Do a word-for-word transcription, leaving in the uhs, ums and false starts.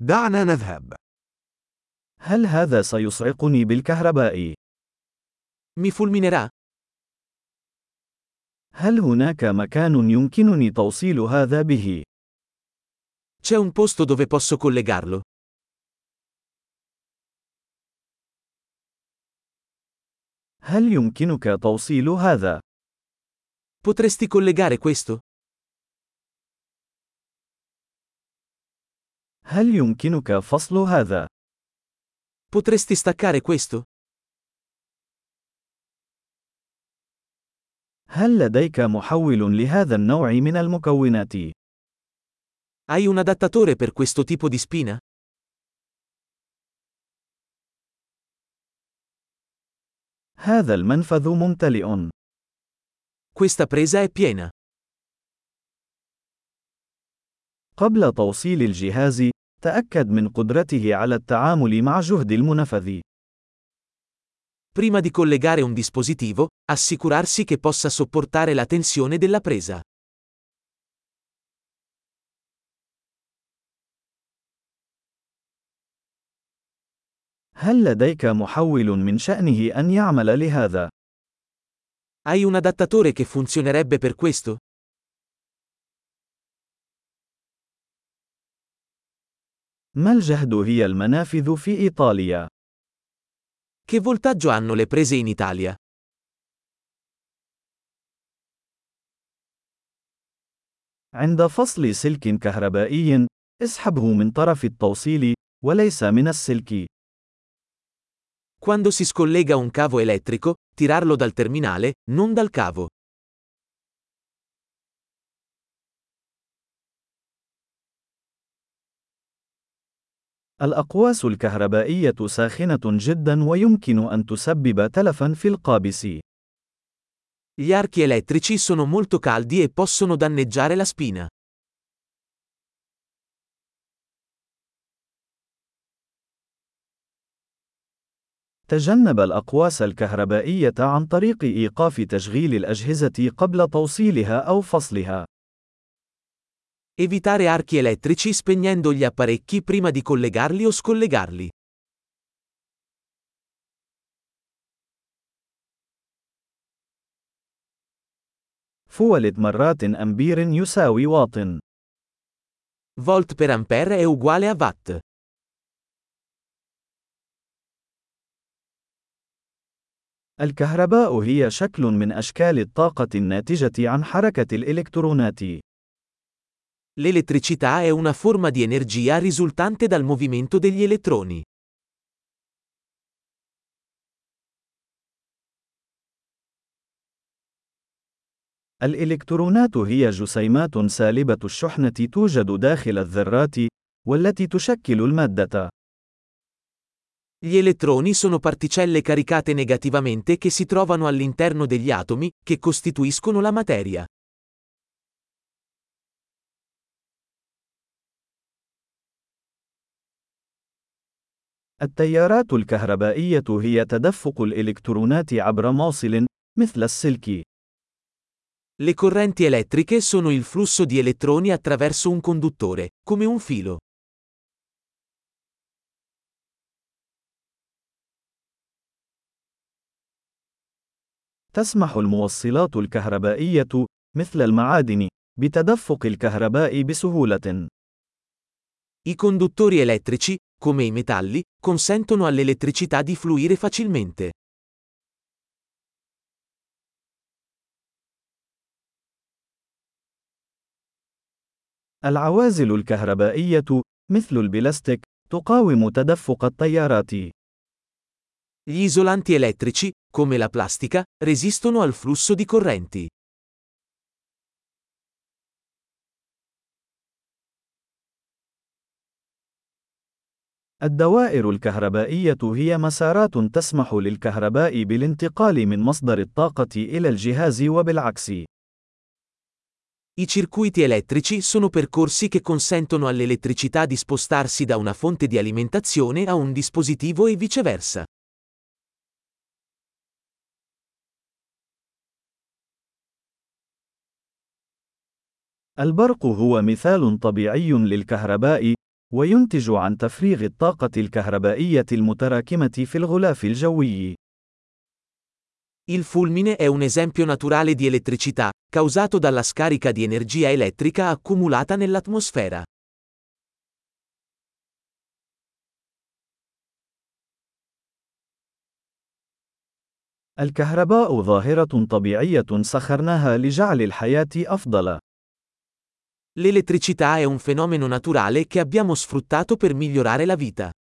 دعنا نذهب. هل هذا سيصعقني بالكهرباء؟ Mi fulminerà? هل هناك مكان يمكنني توصيل هذا به؟ C'è un posto dove posso collegarlo? هل يمكنك توصيل هذا؟ Potresti collegare questo? هل يمكنك فصل هذا؟ Potresti staccare questo? هل لديك محول لهذا النوع من المكونات؟ Hai un adattatore per questo tipo di spina? هذا المنفذ ممتلئ. Questa presa è piena. قبل توصيل الجهاز، تأكد من قدرته على التعامل مع جهد المنفذ. Prima di collegare un dispositivo, assicurarsi che possa sopportare la tensione della presa. هل لديك محول من شأنه أن يعمل لهذا؟ Hai un adattatore che funzionerebbe per questo? ما الجهد هي المنافذ في إيطاليا؟ Che voltaggio hanno le prese in Italia? عند فصل سلك كهربائي، اسحبه من طرف التوصيل، وليس من السلك. Quando si scollega un cavo elettrico, tirarlo dal terminale, non dal cavo. الأقواس الكهربائية ساخنة جدا ويمكن أن تسبب تلفا في القابس. Gli archi elettrici sono molto caldi e possono danneggiare la spina. تجنب الأقواس الكهربائية عن طريق إيقاف تشغيل الأجهزة قبل توصيلها أو فصلها. Evitare archi elettrici spegnendo gli apparecchi prima di collegarli o scollegarli. فولت مرات أمبير يساوي واط. Volt per ampere è uguale a watt. الكهرباء هي شكل من أشكال الطاقة الناتجة عن حركة الإلكترونات. L'elettricità è una forma di energia risultante dal movimento degli elettroni. الإلكترونات هي جسيمات سالبة الشحنة توجد داخل الذرات، والتي تشكل المادة. Gli elettroni sono particelle caricate negativamente che si trovano all'interno degli atomi, che costituiscono la materia. التيارات الكهربائية هي تدفق الإلكترونات عبر موصل، مثل السلك. Le correnti elettriche sono il flusso di elettroni attraverso un conduttore, come un filo. تسمح الموصلات الكهربائية، مثل المعادن، بتدفق الكهرباء بسهولة. I conduttori elettrici, come i metalli, consentono all'elettricità di fluire facilmente. العوازل الكهربائية، مثل البلاستيك، تقاوم تدفق التيارات. Gli isolanti elettrici, come la plastica, resistono al flusso di correnti. الدوائر الكهربائية هي مسارات تسمح للكهرباء بالانتقال من مصدر الطاقة إلى الجهاز وبالعكس. I circuiti elettrici sono percorsi che consentono all'elettricità di spostarsi da una fonte di alimentazione a un dispositivo e viceversa. البرق هو مثال طبيعي للكهرباء، وينتج عن تفريغ الطاقة الكهربائية المتراكمة في الغلاف الجوي. Il fulmine è un esempio naturale di elettricità, causato dalla scarica di energia elettrica accumulata nell'atmosfera. الكهرباء ظاهرة طبيعية سخرناها لجعل الحياة أفضل. L'elettricità è un fenomeno naturale che abbiamo sfruttato per migliorare la vita.